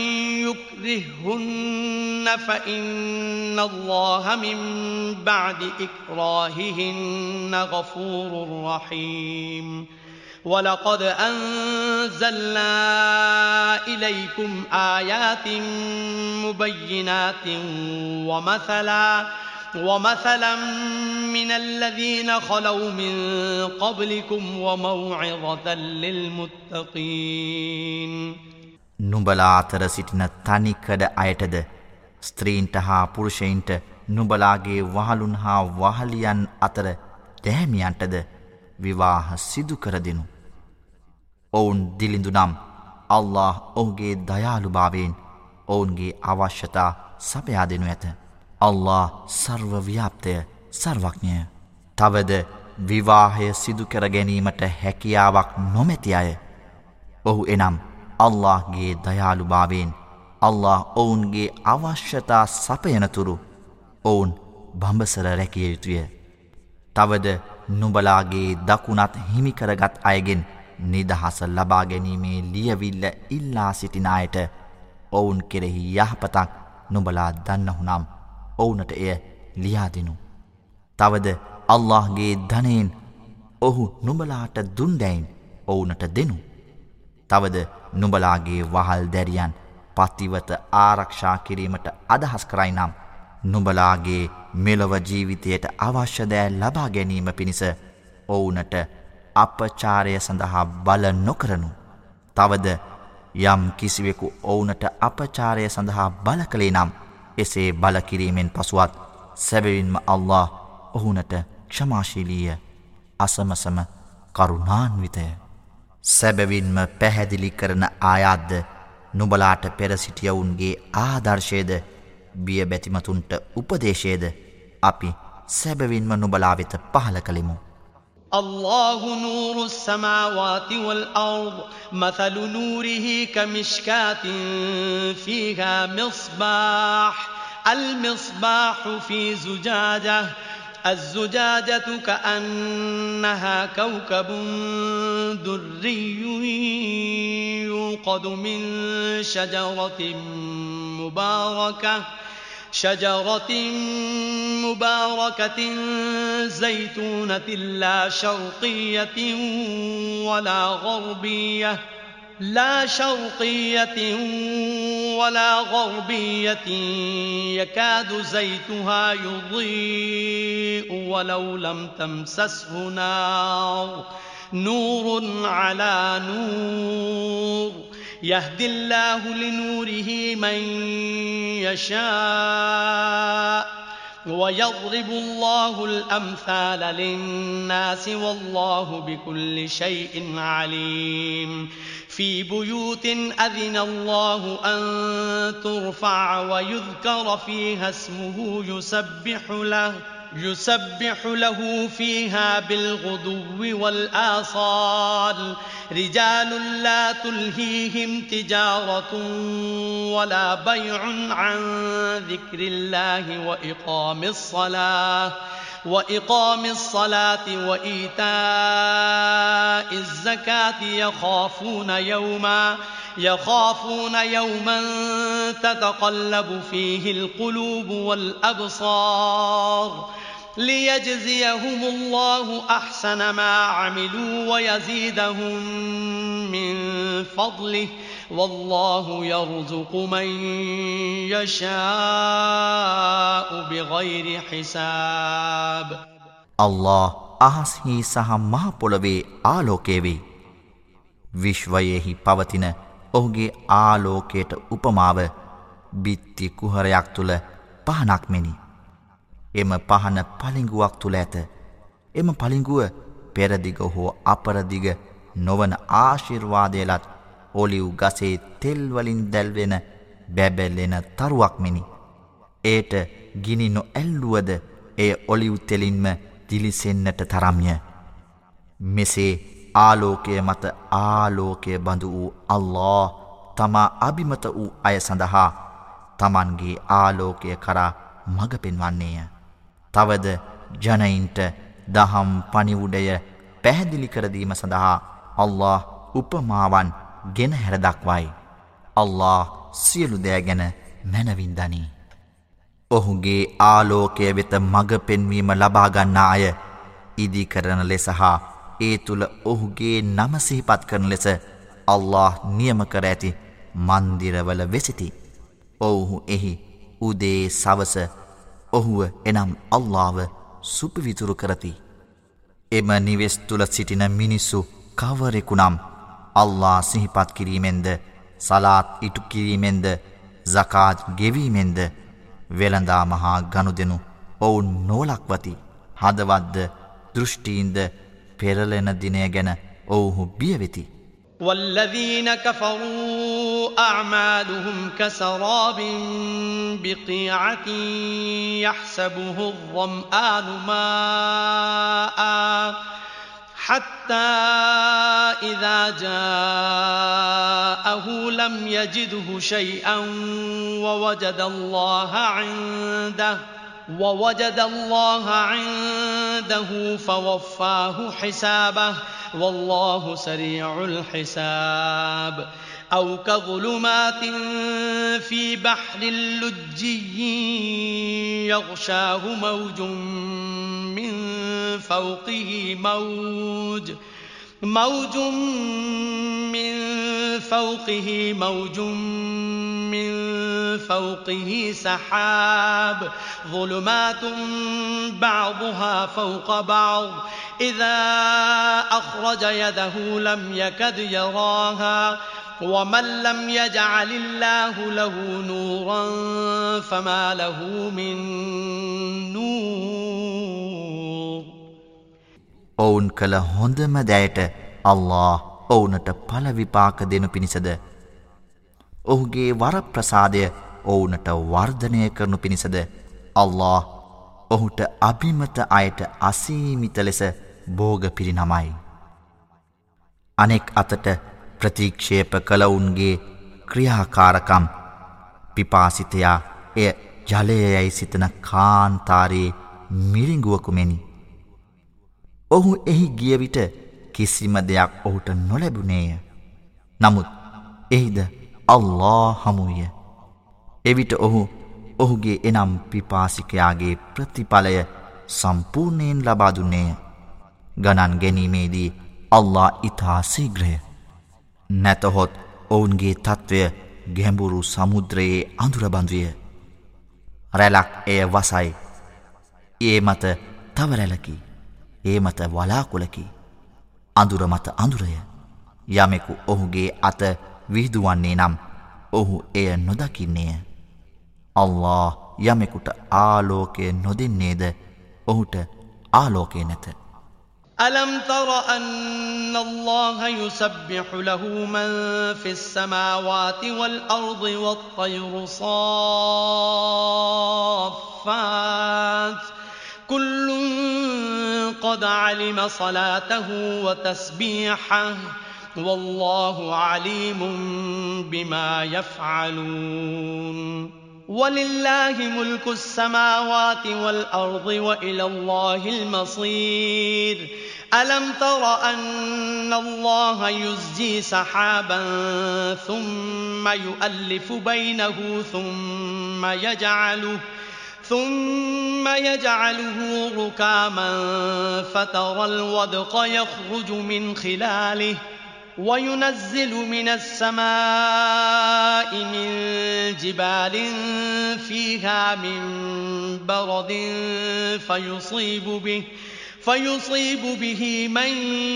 يكرههن فإن الله من بعد إكراههن غفور رحيم ولقد أنزلنا إليكم آيات مبينات ومثلا ومثلا من الذين خلوا من قبلكم وموعظة للمتقين. නුඹලා අතර සිටින තනිකඩ අයටද ස්ත්‍රීන්ට හා පුරුෂයින්ට නුඹලාගේ වහලුන් හා වහලියන් අතර දැහැමියන්ටද විවාහ සිදු කර දෙනු. ඔවුන් දිලිඳු නම් අල්ලාහ් ඔහුගේ දයාලුභාවයෙන් ඔවුන්ගේ අවශ්‍යතා සපයා දෙනු ඇත. අල්ලාහ් සර්ව ව්‍යාප්තය, සර්වඥය. තවද විවාහය සිදු කර ගැනීමට හැකියාවක් නොමැති අය ඔහු එනම් අල්ලාහ්ගේ දයාලුභාවයෙන් අල්ලාහ් ඔවුන්ගේ අවශ්‍යතා සපයනතුරු ඔවුන් බඹසර රැකිය යුතුය. තවද නුඹලාගේ දකුණත් හිමිකරගත් අයගෙන් නිදහස ලබා ගැනීමේ ලියවිල්ල ඉල්ලා සිටින අයට ඔවුන් කෙරෙහි යහපතක් නුඹලා දන්නහුනම් ඔවුනට එය ලියාදිනු. තවද අල්ලාහ්ගේ ධනයෙන් ඔහු නුඹලාට දුන්දැයින් ඔවුනට දෙනු. තවද නුඹලාගේ වහල් දැරියන් පතිවත ආරක්ෂා කිරීමට අදහස් කරයි නම් නුඹලාගේ මෙලොව ජීවිතයට අවශ්‍ය දෑ ලබා ගැනීම පිණිස ඔවුනට අපචාරය සඳහා බල නොකරනු. තවද යම් කිසිවෙකු ඔවුනට අපචාරය සඳහා බල කළේ නම් එසේ බල කිරීමෙන් පසුවත් සැබවින්ම අල්ලාහ් ඔහුනට ක්ෂමාශීලීය අසමසම කරුණාන්විතය. සැබවින්ම පැහැදිලි කරන ආයාත්ද නුඹලාට පෙර සිටියවුන්ගේ ආදර්ශයද බිය බැතිමතුන්ට උපදේශයද අපි සැබවින්ම නුඹලා වෙත පහල කළෙමු. الله نور السماوات والأرض مثل نوره كمشكاة فيها مصباح المصباح في زجاجة الزجاجة كأنها كوكب دري يوقد من شجرة مباركة شجرة مباركة زيتونة لا شرقية ولا غربية لا شرقية ولا غربية يكاد زيتها يضيء ولو لم تمسسه نار نور على نور يهدي الله لنوره من يشاء ويضرب الله الأمثال للناس والله بكل شيء عليم في بيوت أذن الله أن ترفع ويذكر فيها اسمه يسبح له يسبح له فيها بالغدو والآصال رجال لا تلهيهم تجارة ولا بيع عن ذكر الله وإقام الصلاة وإقام الصلاة وإيتاء الزكاة يخافون يوما يخافون يوما تتقلب فيه القلوب والأبصار ليجزيهم الله أحسن ما عملوا ويزيدهم من فضله والله يرزق من يشاء بغير حساب الله අහස්හි සහ මහ පොළවේ ආලෝකය වේ. විශ්වයෙහි පවතින ඔහුගේ ආලෝකයට උපමාව බිත්ති කුහරයක් තුල පහනක් මෙනි. එම පහන පලිඟුවක් තුල ඇත. එම පලිඟුව පෙරදිග හෝ අපරදිග නොවන ආශිර්වාදයලත් ඔලිව් ගසේ තෙල් වලින් දැල්වෙන බැබලෙන තරුවක් මෙනි. ඒට ගිනි නොඇල්ලුවද එය ඔලිව් තෙලින්ම දිලිසෙන්නට තරම්ය. මෙසේ ආලෝකය මත ආලෝකය බඳු වූ අල්ලාහ් තමා අබිමත වූ අය සඳහා තමන්ගේ ආලෝකය කරා මඟ පෙන්වන්නේය. තවද ජනයින්ට දහම් පණිවුඩය පැහැදිලි කර දීම සඳහා අල්ලාහ් උපමාවන් ගෙන හැර දක්වයි. අල්ලාහ් සියලු දෑ ගැන මැනවින් දනී. ඔහුගේ ආලෝකය වෙත මඟ පෙන්වීම ලබා ගන්නා අය ඉදි කරන ලෙස හා ඒ තුල ඔහුගේ නම සිහිපත් කරන ලෙස අල්ලාහ් නියම කර ඇති මන්දිරවල වෙසිති. ඔව්හු එහි උදේ සවස ඔහුව එනම් අල්ලාහ්ව සුපවිතුරු කරති. එම නිවෙස් තුල සිටින මිනිස්සු කවරෙකුනම් අල්ලාහ් සිහිපත් කිරීමෙන්ද සලාත් ඉටු කිරීමෙන්ද සකාත් ගෙවීමෙන්ද වෙළඳා මහා ගනුදෙනු ඔවුන් නොලක්වති. හදවත්ද දෘෂ්ටීන්ද පෙරලෙන දිනය ගැන ඔවුහු බියවෙති. والذين كفروا أعمالهم كسراب بقيعة يحسبه الظمآن ماء حتى إذا جاءه لم يجده شيئا ووجد الله عنده ووجد الله عنده فوفاه حسابه والله سريع الحساب أو كظلمات في بحر لجي يغشاه موج من فوقه موج موج من فوقه موج من فوقه سحاب ظلمات بعضها فوق بعض إذا أخرج يده لم يكد يراها ومن لم يجعل الله له نورا فما له من نور. ඔවුන් කළ හොඳම දෑයට අල්ලාහ් ඔවුනට පළ විපාක දෙනු පිණිසද ඔහුගේ වරප්‍රසාදය ඔවුනට වර්ධනය කරනු පිණිසද අල්ලාහ් ඔහුට අභිමත අයට අසීමිත ලෙස භෝග පිරිනමයි. අනෙක් අතට ප්‍රතික්ෂේප කළවුන්ගේ ක්‍රියාකාරකම් පිපාසිතයා එය ජලයයි සිතන කාන්තාරයේ මිරිඟුවකු මෙනි. ඔහු එහි ගිය විට කිසිම දෙයක් ඔහුට නොලැබුණේය. නමුත් එහිද අල්ලාහ් හමුය. එවිට ඔහු ඔහුගේ එනම් පිපාසිකයාගේ ප්‍රතිඵලය සම්පූර්ණයෙන් ලබා දුන්නේය. ගණන් ගැනීමේදී අල්ලාහ් ඉතා ශීඝ්‍රය. නැතහොත් ඔවුන්ගේ තත්වය ගැඹුරු සමුද්‍රයේ අඳුර බඳුය. රැලක් එය වසයි. ඒ මත තව රැලකි. ඒ මත වලාකුලකි. අඳුර මත අඳුරය. යමෙකු ඔහුගේ අත විහිදුවන්නේ නම් ඔහු එය නොදකින්නේය. අල්ලාහ් යමෙකුට ආලෝකය නොදෙන්නේද ඔහුට ආලෝකය නැත. ألم تر أن الله يسبح له من في السماوات والأرض والطير صافات كل قد علم صلاته وتسبيحه والله عليم بما يفعلون ولله ملك السماوات والأرض وإلى الله المصير ألم تر أن الله يزجي سحابا ثم يؤلف بينه ثم يجعله ثم يجعله ركاما فترى الودق يخرج من خلاله وينزل من السماء من جبال فيها من برد فيصيب به فيصيب به من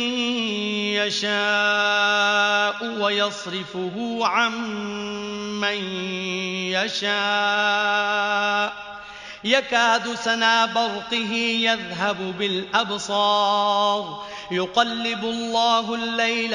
يشاء ويصرفه عن من يشاء يكاد سنا برقه يذهب بالأبصار يقلب الله الليل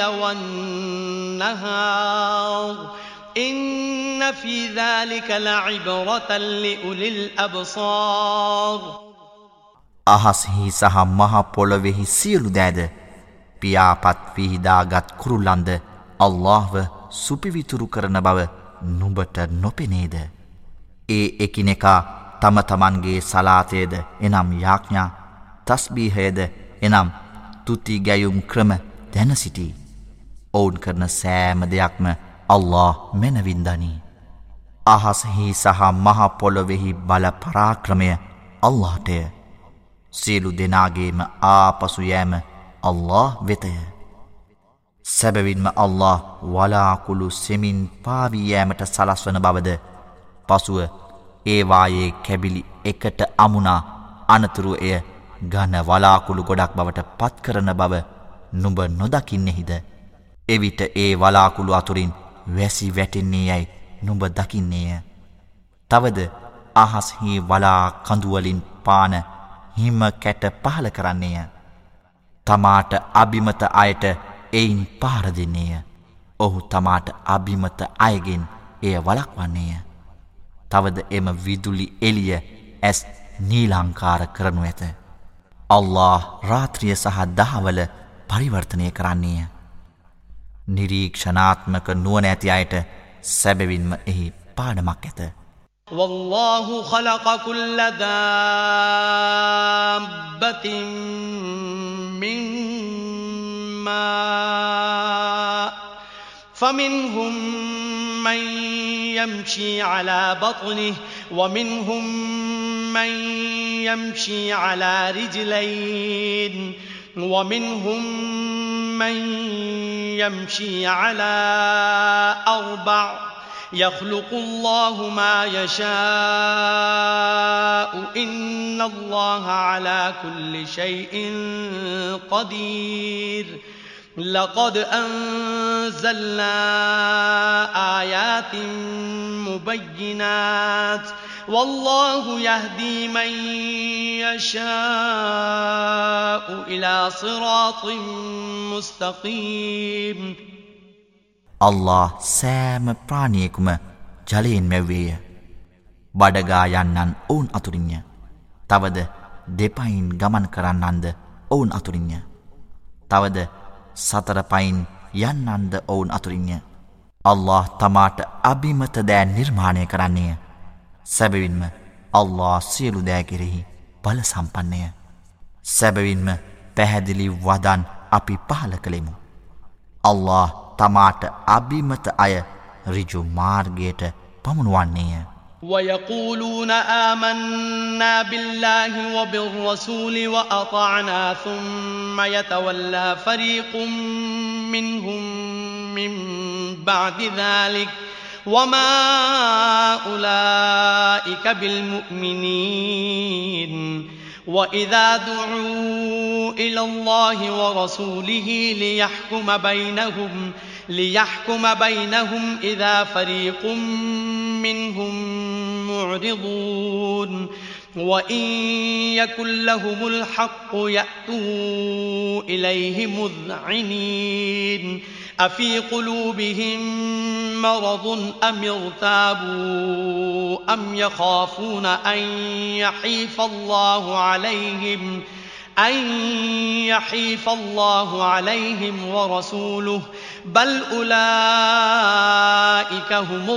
والنهار إن في ذلك لعبرة لأولي الأبصار. අහස්හි සහ මහ පොළොවෙහි සියලු දෑද පියාපත් විහිදාගත් කුරුල්ලන්ද අල්ලාහ්ව සුපිවිතුරු කරන බව නුඹට නොපෙනේද? ඒ එකිනෙකා තම තමන්ගේ සලාතයද එනම් යාඥා තස්බීහයද එනම් තුති ගැයුම් ක්‍රම දැන සිටී. ඔවුන් කරන සෑම දෙයක්ම අල්ලාහ් මැනවින් දනී. අහස්හි සහ මහ පොළොවෙහි බල පරාක්‍රමය අල්ලාහ්ටය. සියලු දෙනාගේම ආපසු යෑම අල්ලාහ් වෙතය. සැබවින්ම අල්ලාහ් වලාකුළු සෙමින් පාවී යෑමට සලස්වන බවද පසුව ඒවායේ කැබිලි එකට අමුණා අනතුරු එය ඝන වලාකුළු ගොඩක් බවට පත් කරන බව නුඹ නොදකින්නේහිද? එවිට ඒ වලාකුළු අතුරින් වැසි වැටෙන්නේ යයි නුඹ දකින්නේය. තවද අහස්හි වලා කඳුවලින් පාන හිම කැට පහල කරන්නේය. තමාට අභිමත අයට එයින් පහර දෙන්නේය. ඔහු තමාට අභිමත අයගෙන් එය වළක්වන්නේය. තවද එම විදුලි එළිය ඇස් නීලංකාර කරනු ඇත. අල්ලාහ් රාත්‍රිය සහ දහවල පරිවර්තනය කරන්නේය. නිරීක්ෂණාත්මක නුවණ ඇති අයට සැබවින්ම එහි පාඩමක් ඇත. والله خلق كل دابة من ماء فمنهم من يمشي على بطنه ومنهم من يمشي على رجلين ومنهم من يمشي على أربع يخلق الله ما يشاء إن الله على كل شيء قدير لقد أنزلنا آيات مبينات والله يهدي من يشاء إلى صراط مستقيم අල්ලාහ් සෑම ප්‍රාණියෙකුම ජලයෙන් මැව්වේය. බඩගා යන්නන් ඔවුන් අතුරින්ය. තවද දෙපයින් ගමන් කරන්නන්ද ඔවුන් අතුරින්ය. තවද සතර පයින් යන්නන්ද ඔවුන් අතුරින්ය. අල්ලාහ් තමාට අභිමත දෑ නිර්මාණය කරන්නේය. සැබවින්ම අල්ලාහ් සියලු දෑ කෙරෙහි බල සම්පන්නය. සැබවින්ම පැහැදිලි වදන් අපි පහල කළෙමු. අල්ලාහ් තමාට අභිමත අය ඍජු මාර්ගයට පමුණුවන්නේය. ويقولون آمنا بالله وبالرسول وأطعنا ثم يتولى فريق منهم من بعد ذلك وما أولئك بالمؤمنين وإذا دعوا إلى الله ورسوله ليحكم بينهم ليحكم بينهم إذا فريق منهم معرضون وإن يكن لهم الحق يأتوا إليه مذعنين أفي قلوبهم مرض أم ارتابوا أم يخافون أن يحيف الله عليهم أن يحيف الله عليهم ورسوله بل أولئك هم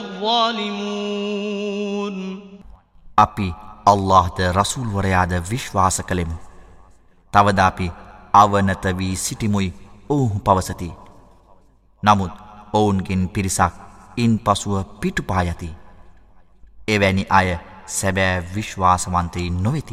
الظالمون අපි අල්ලාහ්ද රසූල් වරයාද විශ්වාස කළෙමු. තවද අපි අවනත වී සිටිමුයි ඔවුහු පවසති. නමුත් ඔවුන්ගෙන් පිරිසක් ඉන් පසුව පිටුපා යති. එවැනි අය සැබෑ විශ්වාසවන්තයින් නොවෙති.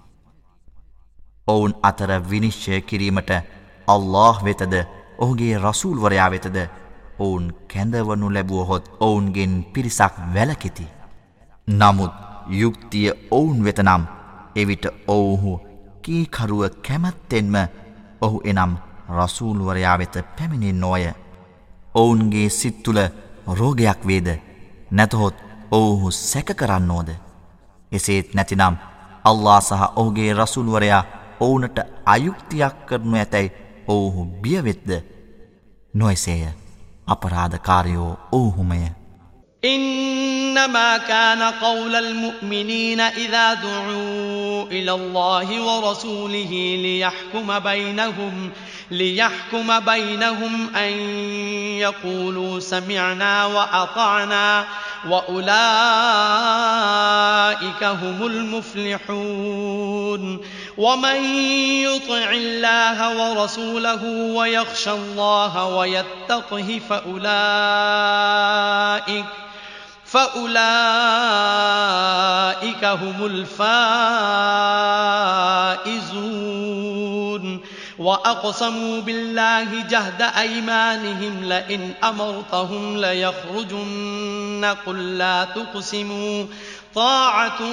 ඔවුන් අතර විනිශ්චය කිරීමට අල්ලාහ් වෙතද ඔහුගේ රසූල් වරයා වෙතද ඔවුන් කැඳවනු ලැබුවහොත් ඔවුන්ගෙන් පිරිසක් වැළකෙති. නමුත් යුක්තිය ඔවුන් වෙතනම් එවිට ඔවුහු කීකරුව කැමැත්තෙන්ම ඔහු එනම් රසූල් වරයා වෙත පැමිණෙන්නෝය. ඔවුන්ගේ සිත් තුළ රෝගයක් වේද නැතහොත් ඔවුහු සැක කරන්නෝද. එසේත් නැතිනම් අල්ලාහ් සහ ඔහුගේ රසූල් වරයා ඔවුනට අයුක්තියක් කරනු ඇතැයි ඔවුහු බියවෙත්ද. නොයසේය. අපරාධකාරයෝ ඔවුහුමය. إنما كان قول المؤمنين إذا دعوا إلى الله ورسوله ليحكم بينهم ليحكم بينهم أن يقولوا سمعنا وأطعنا وأولئك هم المفلحون ومن يطع الله ورسوله ويخشى الله ويتقه فأولئك فأولئك هم الفائزون وأقسموا بالله جهد أيمانهم لئن أمرتهم ليخرجن قل لا تقسموا طاعة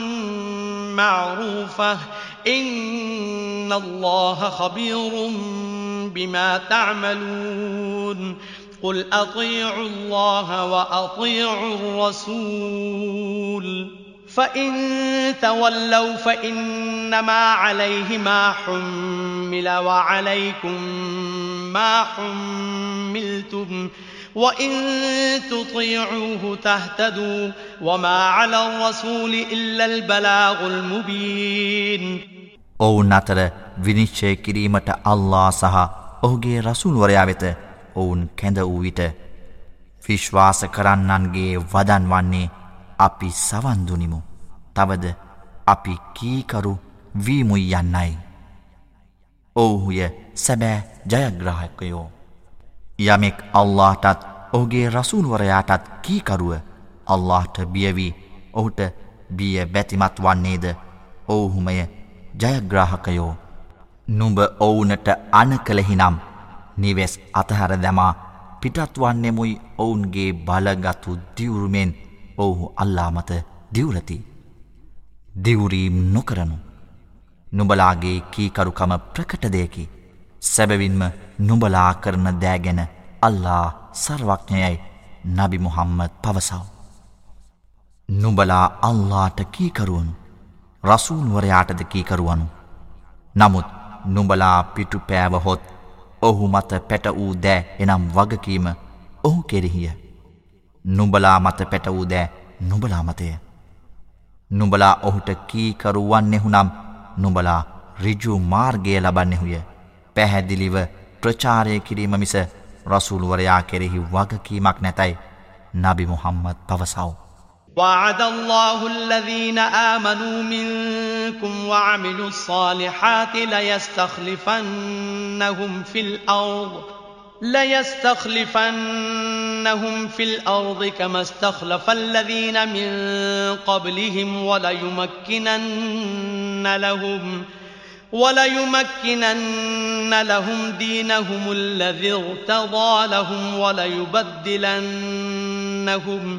معروفة إن الله خبير بما تعملون قل أطيعوا الله وأطيعوا الرسول فإن تولوا فإنما عليه ما حمل وعليكم ما حملتم وإن تطيعوه تهتدوا وما على الرسول إلا البلاغ المبين ඔවුන් අතර විනිශ්චය කිරීමට අල්ලාහ් සහ ඔහුගේ රසූල් වරයා වෙත ඔවුන් කැඳ වූ විට විශ්වාස කරන්නන්ගේ වදන් වන්නේ අපි සවන් දුනිමු. තවද අපි කීකරු වීමුයි යන්නයි. ඔවුහුය සැබෑ ජයග්‍රාහකයෝ. යමෙක් අල්ලාහටත් ඔහුගේ රසූල්වරයාටත් කීකරුව අල්ලාහට බියවී ඔහුට බිය බැතිමත් වන්නේද ඔවුහුමය ජයග්‍රාහකයෝ. නුඹ ඔවුනට අන කළෙහිනම් නිවෙස් අතහැර දැමා පිටත් වන්නෙමුයි ඔවුන්ගේ බලගතු දිවුරුමෙන් ඔවුහු අල්ලා මත දිවුරති. දිවුරීම් නොකරනු. නුඹලාගේ කීකරුකම ප්‍රකට දෙයකි. සැබවින්ම නුඹලා කරන දෑගැන අල්ලා සර්වඥයයි නබි මුහම්මද් පවසව. නුඹලා අල්ලාට කීකරුවනු රසූල්වරයාටද කීකරුවනු. නමුත් නුඹලා පිටු පෑවහොත් ඔහු මත පැට වූ දෑ එනම් වගකීම ඔහු කෙරෙහිය. නුඹලා මත පැට වූ දෑ නුඹලා මතය. නුඹලා ඔහුට කීකරු වන්නෙහුනම් නුඹලා ඍජු මාර්ගය ලබන්නෙහුය. පැහැදිලිව ප්‍රචාරය කිරීම මිස රසූල්වරයා කෙරෙහි වගකීමක් නැතයි නබි මුහම්මද් පවසව. وعد الله الذين آمنوا منكم وعملوا الصالحات ليستخلفنهم في الأرض ليستخلفنهم في الأرض كما استخلف الذين من قبلهم وليمكنن لهم وليمكنن لهم دينهم الذي ارتضى لهم وليبدلنهم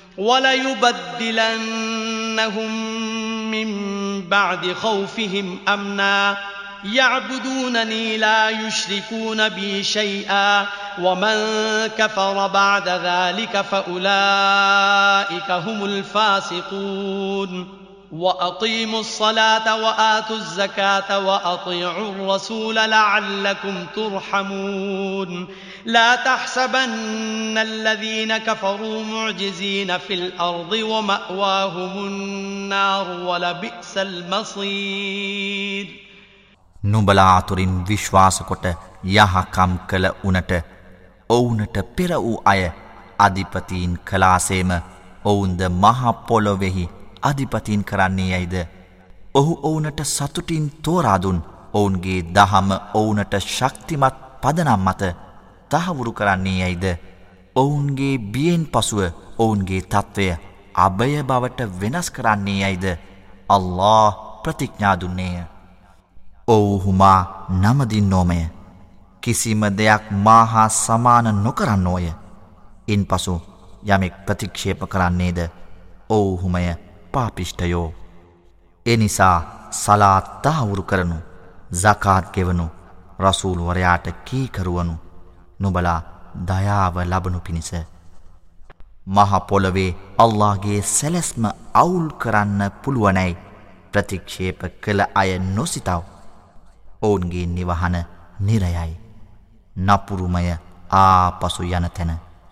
وليبدلنهم من بعد خوفهم أمنا يعبدونني لا يشركون بي شيئا ومن كفر بعد ذلك فأولئك هم الفاسقون وأقيموا الصلاة وآتوا الزكاة وأطيعوا الرسول لعلكم ترحمون لا تحسبن الذين كفروا معجزين في الأرض ومأواهم النار ولبئس المصير. නුඹලා අතුරින් විශ්වාස කොට යහකම් කළ උනට ඔවුනට පෙර වූ අය අධිපතීන් කලාසේම ඔවුන්ද මහ පොළොවෙහි අධිපතීන් කරන්නේ යයිද. ඔහු ඔවුනට සතුටින් තෝරාදුන් ඔවුන්ගේ දහම ඔවුනට ශක්තිමත් පදනම් මත තහවුරු කරන්නේ යයිද. ඔවුන්ගේ බියෙන් පසුව ඔවුන්ගේ තත්ත්වය අභය බවට වෙනස් කරන්නේ යයිද. අල්ලාහ් ප්‍රතිඥා දුන්නේය. ඔවුහුමා නමදින්නෝමය. කිසිම දෙයක් මාහා සමාන නොකරන්නෝය. ඉන් පසු යමෙක් ප්‍රතික්ෂේප කරන්නේද ඔවුහුමය පාපිෂ්ඨයෝ. එනිසා සලාත් තහවුරු කරනු, සකාත් ගෙවනු, රසූල්වරයාට කීකරුවනු, නුඹලා දයාව ලබනු පිණිස. මහ පොළවේ අල්ලාහ්ගේ සැලැස්ම අවුල් කරන්න පුළුවනැයි ප්‍රතික්ෂේප කළ අය නොසිතව. ඔවුන්ගේ නිවහන නිරයයි. නපුරුමය ආපසු යන තැන.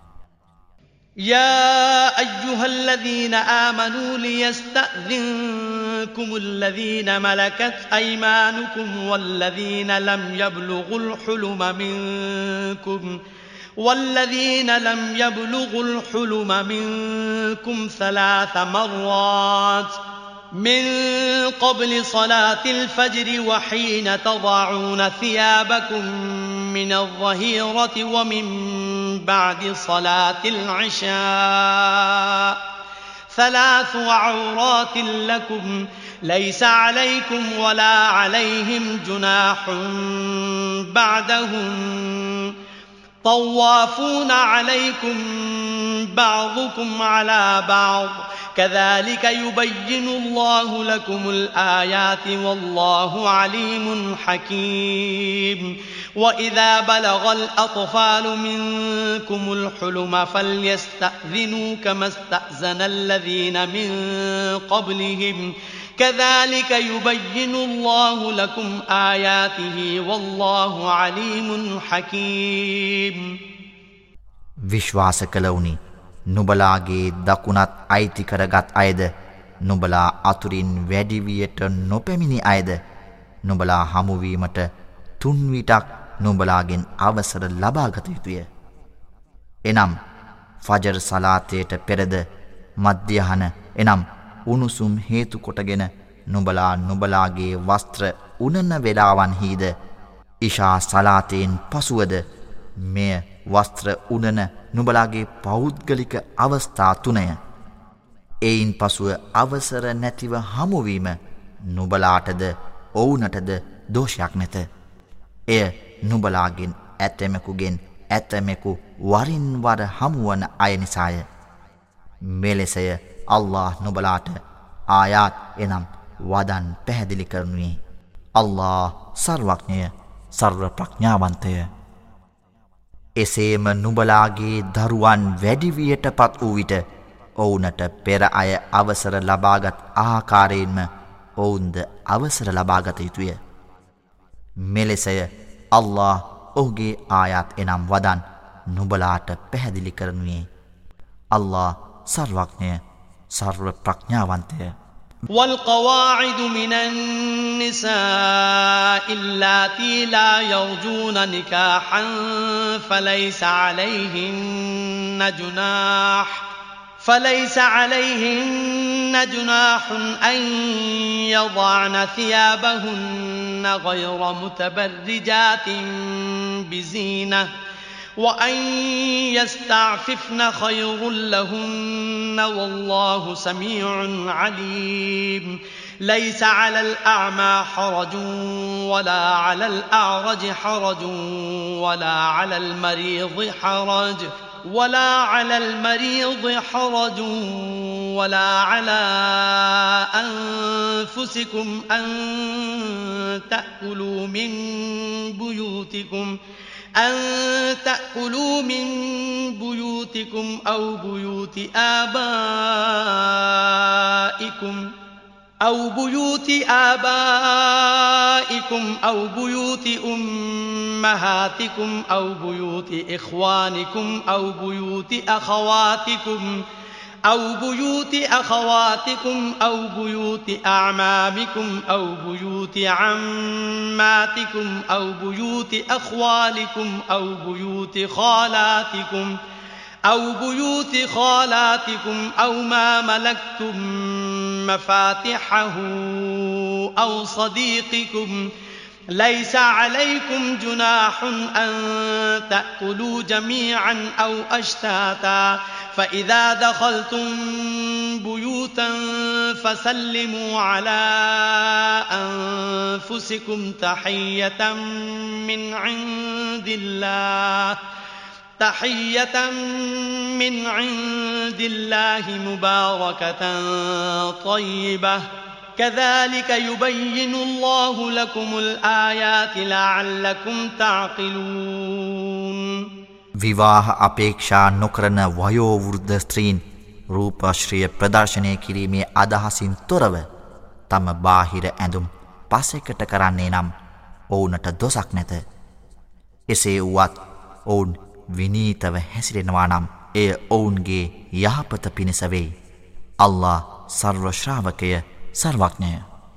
يا أيها الذين آمنوا ليستأذنكم الذين ملكت أيمانكم والذين لم يبلغوا الحلم منكم والذين لم يبلغوا الحلم منكم ثلاث مرات من قبل صلاة الفجر وحين تضعون ثيابكم من الظهيرة ومن بعد صلاة العشاء ثلاث عورات لكم ليس عليكم ولا عليهم جناح بعدهم طوافون عليكم بعضكم على بعض كذلك يبين الله لكم الآيات والله عليم حكيم وإذا بلغ الأطفال منكم الحلم فليستأذنوا كما استأذن الذين من قبلهم كذلك يبين الله لكم آياته والله عليم حكيم. විශ්වාස කළවුනි නුඹලාගේ දකුණත් අයිති කරගත් අයද නුඹලා අතුරින් වැඩිවියට නොපැමිණි අයද නුඹලා හමුවීමට තුන් විටක් නුඹලාගෙන් අවසර ලබාගත යුතුය. එනම් ෆජර් සලාතයට පෙරද මධ්‍යහන එනම් උණුසුම් හේතු කොටගෙන නුඹලා නුඹලාගේ වස්ත්‍ර උනන වේලාවන්හිද ඉෂා සලාතෙන් පසුවද මෙය වස්ත්‍ර උනන නුඹලාගේ පෞද්ගලික අවස්ථා තුනය. එයින් පසුව අවසර නැතිව හමුවීම නුඹලාටද ඔවුනටද දෝෂයක් නැත. එය නුඹලාගෙන් ඇතමෙකුගෙන් ඇතමෙකු වරින් වර හමුවන අය නිසාය. මෙලෙසය අල්ලාහ් නුඹලාට ආයාත් එනම් වදන් පැහැදිලි කරනුයේ. අල්ලාහ් සර්වඥය සර්ව ප්‍රඥාවන්තය. එසේම නුඹලාගේ දරුවන් වැඩිවියට පත් වූ විට ඔවුනට පෙර අය අවසර ලබාගත් ආකාරයෙන්ම ඔවුන්ද අවසර ලබාගත යුතුය. මෙලෙසය අල්ලාහ් ඔහුගේ ආයාත් එනම් වදන් නුඹලාට පැහැදිලි කරනුයේ. අල්ලාහ් සර්වඥය සර්ව ප්‍රඥාවන්තය. والقواعد من النساء اللاتي لا يرجون نكاحا فليس عليهن جناح فليس عليهن جناح أن يضعن ثيابهن غير متبرجات بزينة وأن يستعففن خير لهن والله سميع عليم ليس على الأعمى حرج ولا على الأعرج حرج ولا على المريض حرج ولا على المريض حرج ولا على أنفسكم أن تأكلوا من بيوتكم أن تأكلوا من بيوتكم أو بيوت آبائكم أو بيوت آبائكم أو بيوت أمهاتكم أو بيوت إخوانكم أو بيوت أخواتكم أو بيوت أخواتكم أو بيوت أعمامكم أو بيوت عماتكم أو بيوت أخوالكم أو بيوت خالاتكم أو بيوت خالاتكم أو ما ملكتم مفاتحه أو صديقكم ليس عليكم جناح أن تأكلوا جميعا أو أشتاتا فإذا دخلتم بيوتا فسلموا على أنفسكم تحية من عند الله تحية من عند الله مباركة طيبة كذلك يبين الله لكم الآيات لعلكم تعقلون. විවාහ අපේක්ෂා නොකරන වයෝවෘද්ධ ස්ත්‍රීන් රූපාශ්‍රය ප්‍රදර්ශනය කිරීමේ අදහසින් තොරව තම බාහිර ඇඳුම් පසෙකට කරන්නේ නම් ඔවුනට දොසක් නැත. එසේ වුවත් ඔවුන් විනීතව හැසිරෙනවා නම් එය ඔවුන්ගේ යහපත පිණිස වෙයි. අල්ලාහ් සර්ව ශ්‍රාවකය සර්වඥය.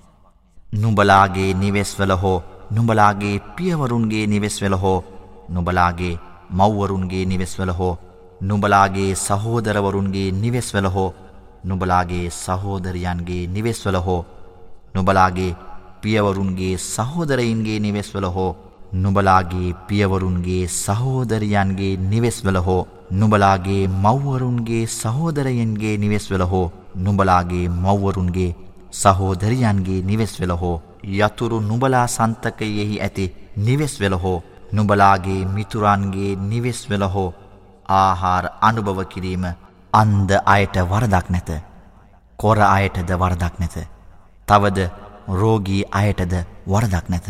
නුඹලාගේ නිවෙස්වල හෝ නුඹලාගේ පියවරුන්ගේ නිවෙස්වල හෝ නුඹලාගේ මව්වරුන්ගේ නිවෙස්වල හෝ නුඹලාගේ සහෝදරවරුන්ගේ නිවෙස්වල හෝ නුඹලාගේ සහෝදරයන්ගේ නිවෙස්වල හෝ නුඹලාගේ පියවරුන්ගේ සහෝදරයින්ගේ නිවෙස්වල හෝ නුඹලාගේ පියවරුන්ගේ සහෝදරයන්ගේ නිවෙස්වල හෝ නුඹලාගේ මව්වරුන්ගේ සහෝදරයන්ගේ නිවෙස්වල හෝ නුඹලාගේ මව්වරුන්ගේ සහෝදරයන්ගේ නිවෙස්වල හෝ යතුරු නුඹලා සන්තකයෙහි ඇති නිවෙස්වල හෝ නුඹලාගේ මිතුරන්ගේ නිවෙස්වල හෝ ආහාර අනුභව කිරීම අන්ධ අයට වරදක් නැත. කොර අයටද වරදක් නැත. තවද රෝගී අයටද වරදක් නැත.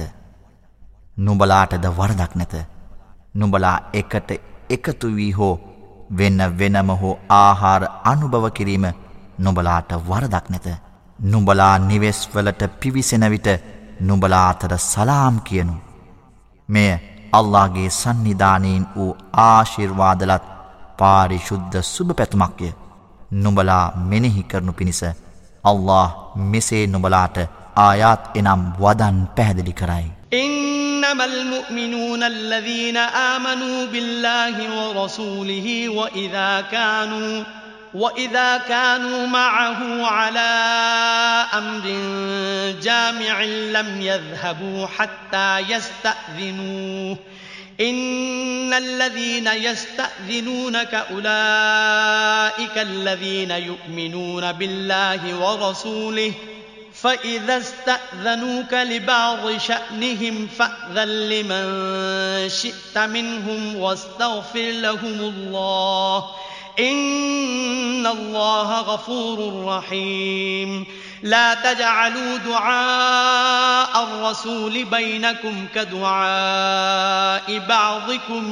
නුඹලාටද වරදක් නැත. නුඹලා එකට එකතු වී හෝ වෙන වෙනම හෝ ආහාර අනුභව කිරීම නුඹලාට වරදක් නැත. නුඹලා නිවෙස්වලට පිවිසෙන විට නුඹලා අතර සලාම් කියනු. මෙය අල්ලාහ්ගේ සන්නිධානයෙන් වූ ආශිර්වාදලත් පාරිශුද්ධ සුබ පැතුමක්ය. නුඹලා මෙනෙහි කරනු පිණිස අල්ලාහ් මෙසේ නුඹලාට ආයාත් එනම් වදන් පැහැදිලි කරයි. إنما المؤمنون الذين آمنوا بالله ورسوله وإذا كانوا وإذا كانوا معه على أمر جامع لم يذهبوا حتى يستأذنوه إن الذين يستأذنونك أولئك الذين يؤمنون بالله ورسوله فإذا استأذنوك لبعض شأنهم فأذن لمن شئت منهم واستغفر لهم الله إن الله غفور رحيم لا تجعلوا دعاء الرسول بينكم كدعاء بعضكم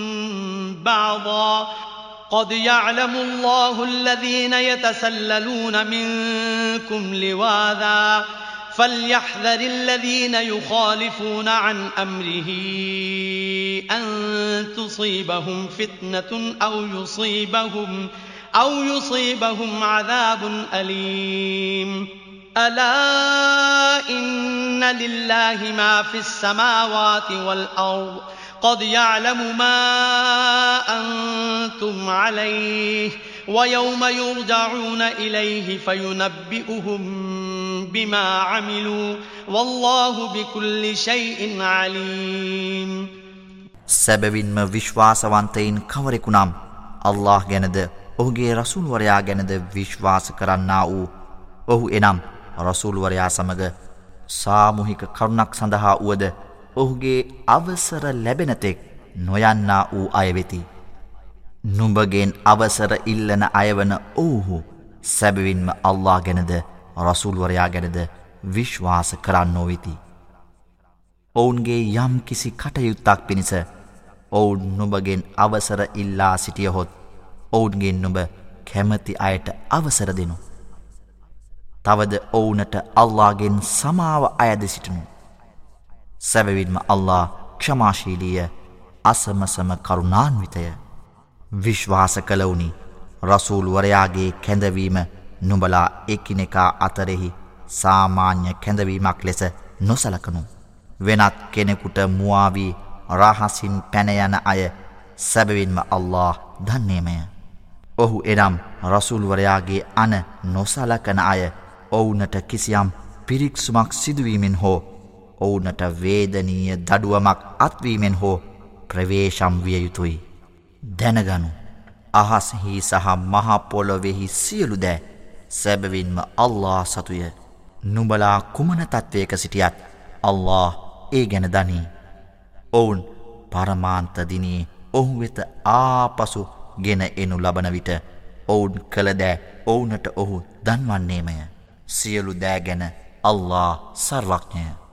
بعضا قد يعلم الله الذين يتسللون منكم لواذا فليحذر الذين يخالفون عن أمره أن تصيبهم فتنة أو يصيبهم أو يصيبهم عذاب أليم ألا إن لله ما في السماوات والأرض قد يعلم ما أنتم عليه ويوم يرجعون إليه فينبئهم بما عملوا والله بكل شيء عليم සැබවින්ම විශ්වාසවන්තයින් කවරෙකු නම් අල්ලාහ් ගැනද ඔහුගේ රසූල් වරයා ගැනද විශ්වාස කරන්නා වූ ඔහු එනම් රසූල් වරයා සමග සාමූහික කරුණක් සඳහා වුවද ඔහුගේ අවසර ලැබෙන තෙක් නොයන්නා වූ අය වෙති. නුඹගෙන් අවසර ඉල්ලන අයවන ඔව්හු සැබවින්ම අල්ලාහ් ගැනද රසූල් වරයා ගැනද විශ්වාස කරන්නෝ වෙති. ඔවුන්ගේ යම් කිසි කටයුත්තක් පිණිස ඔවුන් නුඹගෙන් අවසර ඉල්ලා සිටියහොත් ඔවුන්ගෙන් නුඹ කැමති අයට අවසර දෙනු. තවද ඔවුනට අල්ලාහ්ගෙන් සමාව අයද සිටිනු. සැබවින්ම අල්ලාහ් ක්ෂමාශීලීය අසමසම කරුණාන්විතය. විශ්වාස කළවුනි රසූල් වරයාගේ කැඳවීම නුඹලා එකිනෙකා අතරෙහි සාමාන්‍ය කැඳවීමක් ලෙස නොසලකනු. වෙනත් කෙනෙකුට මුවාවී රහසින් පැන යන අය සැබවින්ම අල්ලාහ් දන්නේමය. ඔහු එනම් රසූල් වරයාගේ අන නොසලකන අය ඔවුනට කිසියම් පිරික්සුමක් සිදුවීමෙන් හෝ ඔවුනට වේදනීය දඩුවමක් අත්වීමෙන් හෝ ප්‍රවේශම් විය යුතුයි. දැනගනු අහස්හි සහ මහ පොළොවෙහි සියලු දෑ සැබවින්ම අල්ලාහ් සතුය. නුඹලා කුමන තත්වයක සිටියත් අල්ලාහ් ඒ ගැන දනී. ඔවුන් පරමාන්ත දිනේ ඔහු වෙත ආපසු ගෙන එනු ලබන විට ඔවුන් කළ දෑ ඔවුනට ඔහු දන්වන්නේමය. සියලු දෑ ගැන අල්ලාහ් සර්වඥය.